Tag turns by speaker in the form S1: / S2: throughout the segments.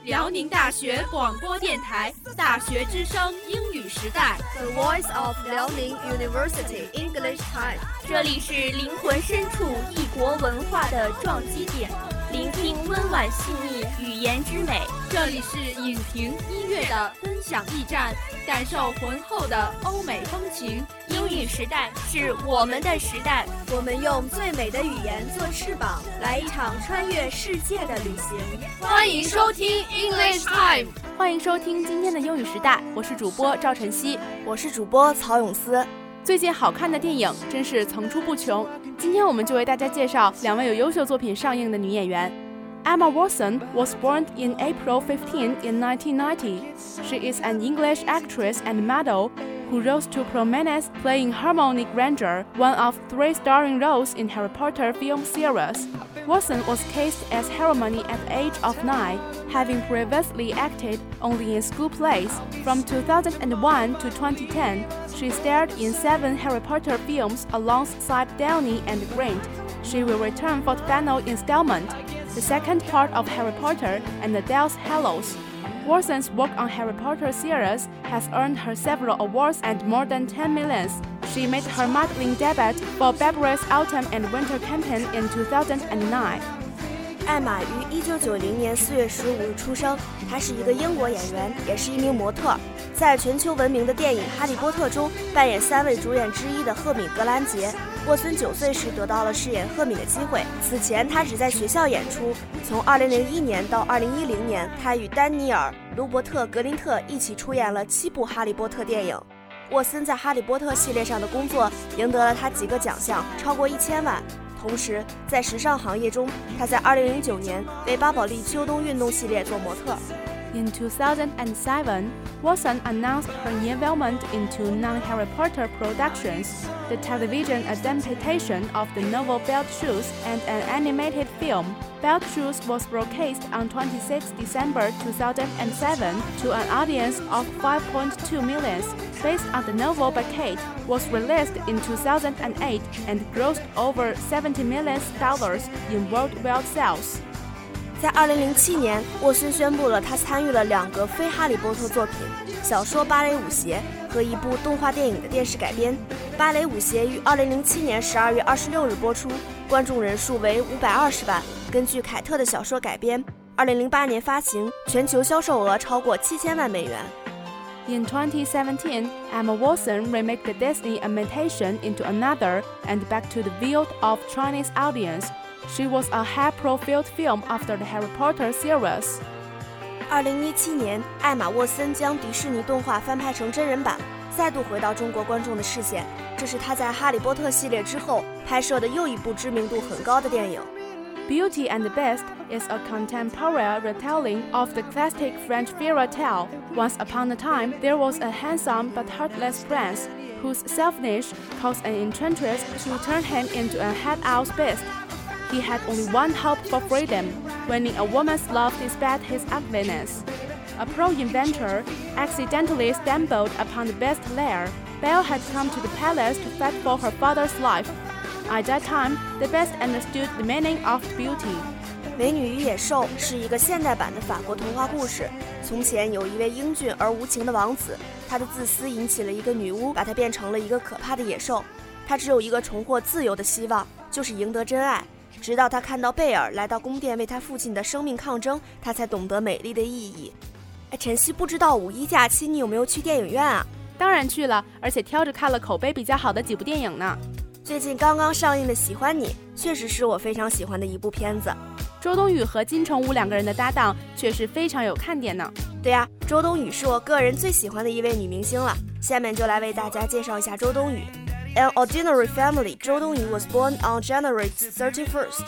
S1: 辽宁大学广播电台大学之声英语时代
S2: The Voice of Liaoning University English Time。
S3: 这里是灵魂深处异国文化的撞击点，聆听温婉细腻语言之美。
S1: 这里是影评音乐的分享驿站，感受浑厚的欧美风情。
S3: 英语时代是我们的时代，
S2: 我们用最美的语言做翅膀，来一场穿越世界的旅行。
S1: 欢迎收听 English Time。
S4: 欢迎收听今天的英语时代，我是主播赵晨曦，
S2: 我是主播曹永思。
S4: 最近好看的电影真是层出不穷，今天我们就为大家介绍两位有优秀作品上映的女演员。Emma Watson was born in April 15 in 1990. She is an English actress and model who rose to prominence playing Hermione Granger, one of 3 starring roles in Harry Potter film series. Watson was cast as Hermione at the age of 9, having previously acted only in school plays. From 2001 to 2010, she starred in 7 Harry Potter films alongside Downey and Grant. She will return for the final installment, the second part of Harry Potter and the Deathly Hallows. Watson's work on Harry Potter series has earned her several awards and more than 10 millions. She made her modeling debut for Burberry's Autumn and Winter campaign in 2009.
S2: 艾玛于1990年4月15日出生，她是一个英国演员，也是一名模特。在全球闻名的电影《哈利波特》中扮演3位主演之一的赫敏·格兰杰。沃森9岁时得到了饰演赫敏的机会，此前她只在学校演出。从2001年到2010年，她与丹尼尔·卢伯特·格林特一起出演了7部《哈利波特》电影。沃森在《哈利波特》系列上的工作赢得了他几个奖项，超过1000万。同时，在时尚行业中，他在2009年为巴宝莉秋冬运动系列做模特。
S4: In 2007, Watson announced her involvement into non-Harry Potter productions, the television adaptation of the novel Beetlejuice and an animated film. Beetlejuice was broadcast on 26 December 2007 to an audience of 5.2 million. Based on the novel by Kate, was released in 2008 and grossed over $70 million in worldwide sales.
S2: 在2007年，沃森宣布了他参与了2个非哈利波特作品，小说《芭蕾舞鞋》和一部动画电影的电视改编。芭蕾舞鞋于2007年12月26日播出，观众人数为520万，根据凯特的小说改编。2008年发行，全球销售额超过7000万美元。
S4: In 2017, Emma Watson remade the Disney imitation into another and back to the field of Chinese audience. She was a high-profile film after the Harry Potter series.
S2: 2017年，艾玛·沃森将迪士尼动画翻拍成真人版，再度回到中国观众的视线。这是她在《哈利波特》系列之后拍摄的又一部知名度很高的电影。
S4: Beauty and the Beast is a contemporary retelling of the classic French fairy tale. Once upon a time, there was a handsome but heartless prince whose selfishness caused an enchantress to turn him into a head-out beast. He had only one hope for freedom, winning a woman's love despite his ugliness. A pro-inventor accidentally stumbled upon the beast's lair. Belle had come to the palace to fight for her father's life. At that time, the beast understood the meaning of beauty.
S2: 美女与野兽是一个现代版的法国童话故事。从前有一位英俊而无情的王子，他的自私引起了一个女巫，把他变成了一个可怕的野兽。他只有一个重获自由的希望，就是赢得真爱。直到他看到贝尔来到宫殿为他父亲的生命抗争，他才懂得美丽的意义。晨曦，不知道5·1假期你有没有去电影院啊？
S4: 当然去了，而且挑着看了口碑比较好的几部电影呢。
S2: 最近刚刚上映的《喜欢你》确实是我非常喜欢的一部片子。
S4: 周冬雨和金城武2个人的搭档确实非常有看点呢。
S2: 对呀，周冬雨是我个人最喜欢的一位女明星了。下面就来为大家介绍一下周冬雨。An ordinary family, 周冬雨 was born on January 31st,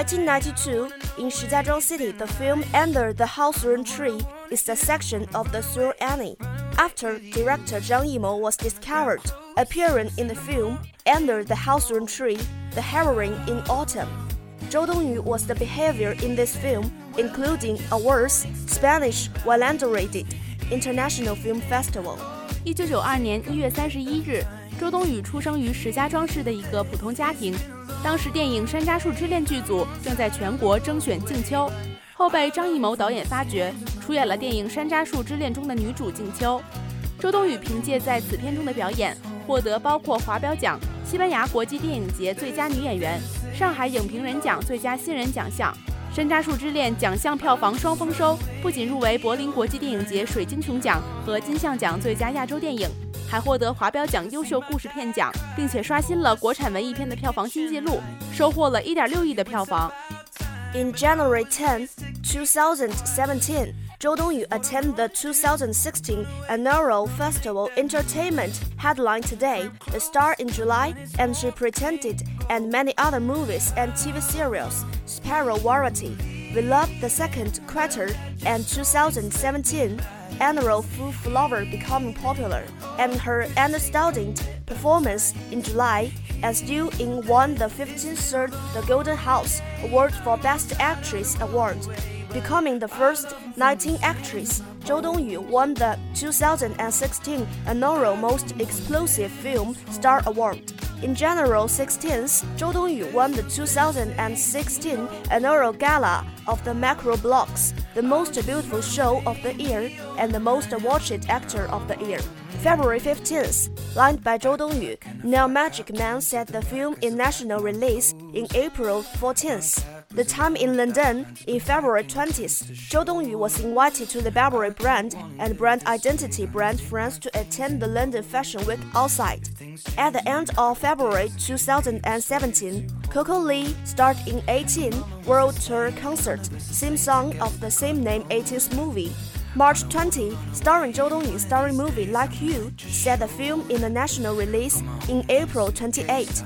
S2: 1992, in Shijiazhuang City. The film Under the Hawthorn Tree is a section of the story Annie. After director Zhang Yimou was discovered, appearing in the film Under the Hawthorn Tree, the heroine in Autumn. 周冬雨 was the behavior in this film, including awards, Spanish Wallenderated International Film Festival.
S4: 1992年1月31日，周冬雨出生于石家庄市的一个普通家庭。当时电影《山楂树之恋》剧组正在全国征选竞秋，后被张艺谋导演发掘， 出演了电影《山楂树之恋》中的女主静秋。周冬雨凭借在此片中的表演，获得包括华表奖、西班牙国际电影节最佳女演员、上海影评人奖最佳新人奖项。《山楂树之恋》奖项票房双丰收，不仅入围柏林国际电影节水晶熊奖和金像奖最佳亚洲电影，还获得华表奖优秀故事片奖，并且刷新了国产文艺片的票房新纪录，收获了1.6亿的票房。
S2: In January 10, 2017, Zhou Dongyu attended the 2016 Annual Festival Entertainment Headline Today, The Star in July, and she presented and many other movies and TV serials, Sparrow Variety. We Love the Second Quarter and 2017 Annual Full Flower becoming popular, and her understanding performance in July as Yu Ying won the 53rd The Golden House Award for Best Actress Award. Becoming the first 19 actress, Zhou Dongyu won the 2016 Annual Most Explosive Film Star Award. In January 16th, Zhou Dongyu won the 2016 Annual Gala of the Macro Blocks, the Most Beautiful Show of the Year and the Most Watched Actor of the Year. February 15th, lined by Zhou Dongyu, Neo Magic Man set the film in national release in April 14th. The time in London, in February 20th, Zhou Dongyu was invited to the Burberry brand and brand identity brand France to attend the London Fashion Week outside. At the end of February 2017, Coco Lee starred in 18 World Tour concert, theme song of the same name 80s movie. March 20, starring Zhou Dongyu starring movie Like You, set the film in the national release in April 28.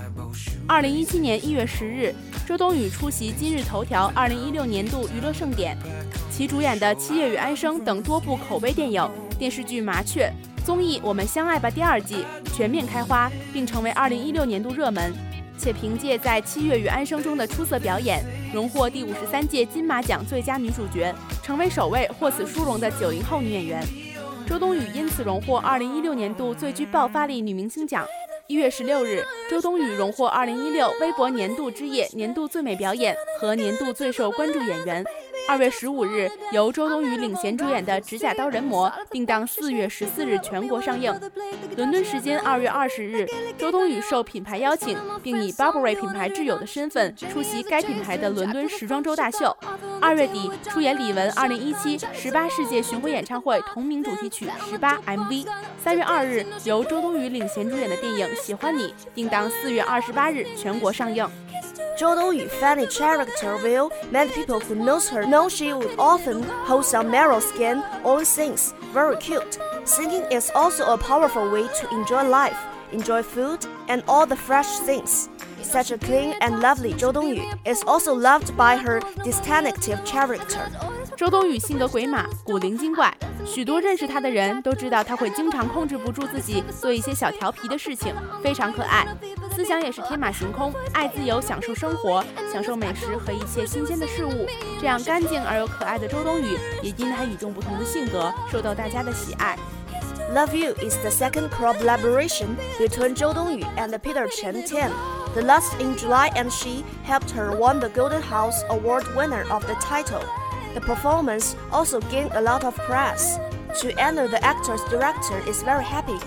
S4: 2017年1月10日，周冬雨出席今日头条2016年度娱乐盛典，其主演的《七月与安生》等多部口碑电影、电视剧《麻雀》、综艺《我们相爱吧》第2季全面开花，并成为2016年度热门，且凭借在《七月与安生》中的出色表演，荣获第53届金马奖最佳女主角，成为首位获此殊荣的90后女演员。周冬雨因此荣获2016年度最具爆发力女明星奖。1月16日，周冬雨荣获2016微博年度之夜年度最美表演和年度最受关注演员。2月15日，由周冬雨领衔主演的《指甲刀人魔》定档4月14日全国上映。伦敦时间2月20日，周冬雨受品牌邀请，并以 Burberry 品牌挚友的身份出席该品牌的伦敦时装周大秀。2月底，出演李玟2017 18世界巡回演唱会同名主题曲《18 MV》。3月2日，由周冬雨领衔主演的电影《喜欢你》定档4月28日全国上映。
S2: Zhou Dongyu funny character will many people who knows her know she would often hold some narrow skin or sings very cute. Singing is also a powerful way to enjoy life, enjoy food, and all the fresh things. Such a clean and lovely Zhou Dongyu is also loved by her distinctive character.
S4: 周冬雨性格鬼马，古灵精怪，许多认识她的人都知道她会经常控制不住自己，做一些小调皮的事情，非常可爱。思想也是天马行空，爱自由，享受生活，享受美食和一切新鲜的事物。这样干净而又可爱的周冬雨，也因她与众不同的性格，受到大家的喜爱。
S2: Love You is the second collaboration between Zhou Dongyu and Peter Chen Tian. The last in July, and she helped her won the Golden House Award winner of the title. The performance also gained a lot of press. To honor the actor's director is very happy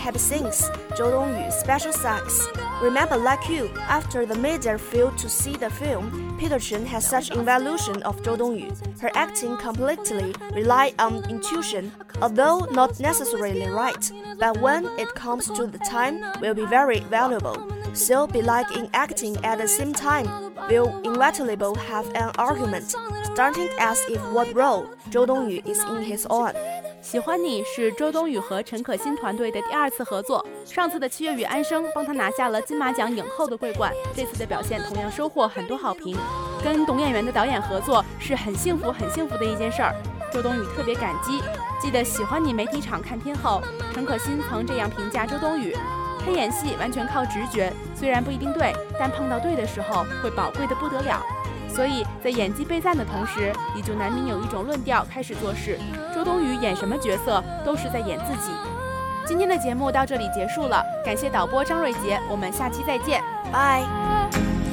S2: since Zhou Dongyu's special thanks. Remember Like You, after the media failed to see the film, Peter Chen has such evaluation of Zhou Dongyu. Her acting completely relied on intuition, although not necessarily right. But when it comes to the time, will be very valuable. So be like in acting at the same time, will inevitably have an argument, starting as if what role Zhou Dongyu is in his own.
S4: 喜欢你是周冬雨和陈可辛团队的第2次合作，上次的《七月与安生》帮她拿下了金马奖影后的桂冠，这次的表现同样收获很多好评。跟懂演员的导演合作是很幸福的一件事儿，周冬雨特别感激。记得《喜欢你》媒体场看片后，陈可辛曾这样评价周冬雨：她演戏完全靠直觉，虽然不一定对，但碰到对的时候会宝贵的不得了。所以在演技被赞的同时，也就难免有一种论调开始做事：周冬雨演什么角色都是在演自己。今天的节目到这里结束了，感谢导播张瑞杰，我们下期再见，
S2: 拜。